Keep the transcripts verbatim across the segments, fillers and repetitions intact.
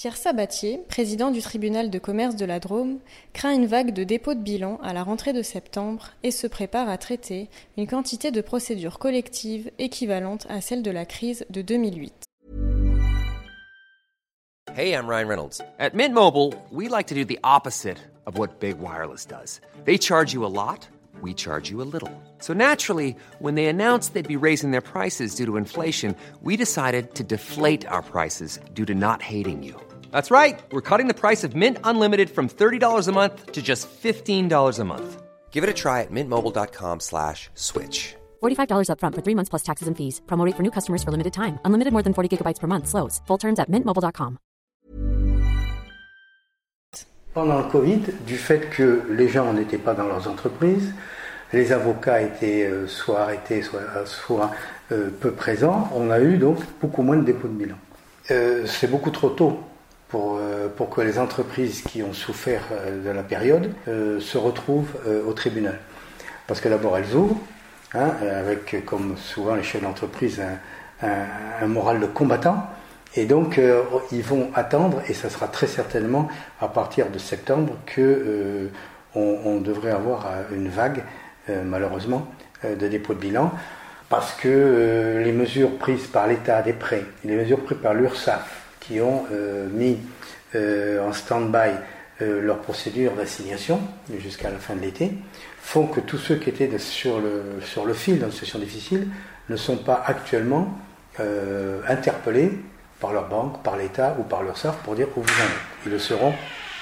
Pierre Sabatier, président du tribunal de commerce de la Drôme, craint une vague de dépôt de bilan à la rentrée de septembre et se prépare à traiter une quantité de procédures collectives équivalente à celle de la crise de deux mille huit. Hey, I'm Ryan Reynolds. At Mint Mobile, we like to do the opposite of what Big Wireless does. They charge you a lot, we charge you a little. So naturally, when they announced they'd be raising their prices due to inflation, we decided to deflate our prices due to not hating you. That's right. We're cutting the price of Mint Unlimited from thirty dollars a month to just fifteen dollars a month. Give it a try at mintmobile.com slash switch. forty-five dollars up front for three months plus taxes and fees. Promo rate for new customers for limited time. Unlimited more than forty gigabytes per month. Slows full terms at mint mobile dot com. Pendant le Covid, du fait que les gens n'étaient pas dans leurs entreprises, les avocats étaient euh, soit arrêtés, soit, soit euh, peu présents, on a eu donc beaucoup moins de dépôts de bilan. Euh, c'est beaucoup trop tôt pour, euh, pour que les entreprises qui ont souffert euh, de la période euh, se retrouvent euh, au tribunal. Parce que d'abord elles ouvrent, hein, avec comme souvent les chefs d'entreprise un, un, un moral de combattant. Et donc, euh, ils vont attendre, et ça sera très certainement à partir de septembre que euh, on, on devrait avoir une vague, euh, malheureusement, euh, de dépôt de bilan, parce que euh, les mesures prises par l'État des prêts, les mesures prises par l'URSSAF, qui ont euh, mis euh, en stand-by euh, leur procédure d'assignation jusqu'à la fin de l'été, font que tous ceux qui étaient de, sur, le, sur le fil dans une situation difficile ne sont pas actuellement euh, interpellés par leur banque, par l'État ou par l'URSSAF pour dire où vous en êtes. Ils le seront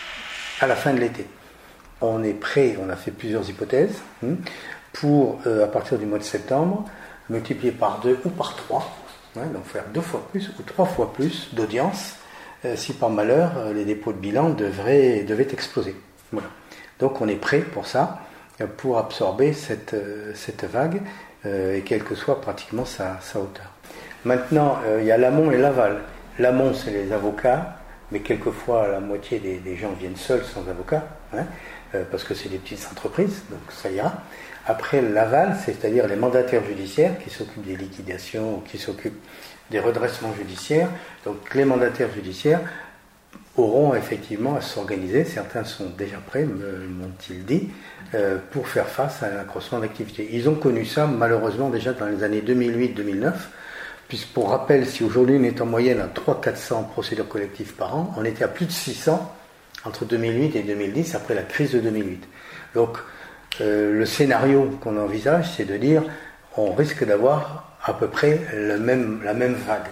à la fin de l'été. On est prêt, on a fait plusieurs hypothèses, hein, pour, euh, à partir du mois de septembre, multiplier par deux ou par trois, hein, donc faire deux fois plus ou trois fois plus d'audience, euh, si par malheur, euh, les dépôts de bilan devraient, devaient exploser. Voilà. Donc on est prêt pour ça, euh, pour absorber cette, euh, cette vague, euh, et quelle que soit pratiquement sa, sa hauteur. Maintenant, euh, il y a l'amont et l'aval. L'amont, c'est les avocats, mais quelquefois la moitié des, des gens viennent seuls sans avocat, hein, euh, parce que c'est des petites entreprises, donc ça ira. Après, l'aval, c'est-à-dire les mandataires judiciaires qui s'occupent des liquidations ou qui s'occupent des redressements judiciaires. Donc les mandataires judiciaires auront effectivement à s'organiser, certains sont déjà prêts, me m'ont-ils dit, euh, pour faire face à un accroissement d'activité. Ils ont connu ça malheureusement déjà dans les années deux mille huit deux mille neuf, puisque pour rappel, si aujourd'hui on est en moyenne à trois cents à quatre cents procédures collectives par an, on était à plus de six cents entre deux mille huit et deux mille dix, après la crise de deux mille huit. Donc euh, le scénario qu'on envisage, c'est de dire on risque d'avoir à peu près le même, la même vague.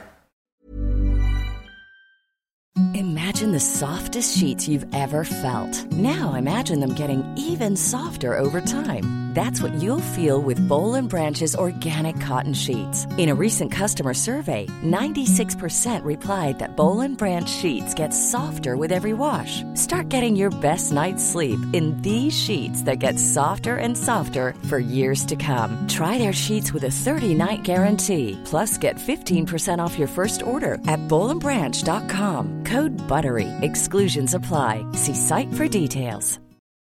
Imagine the softest sheets you've ever felt. Now imagine them getting even softer over time. That's what you'll feel with Boll and Branch's organic cotton sheets. In a recent customer survey, ninety-six percent replied that Boll and Branch sheets get softer with every wash. Start getting your best night's sleep in these sheets that get softer and softer for years to come. Try their sheets with a thirty-night guarantee. Plus, get fifteen percent off your first order at boll and branch dot com. Code BUTTERY. Exclusions apply. See site for details.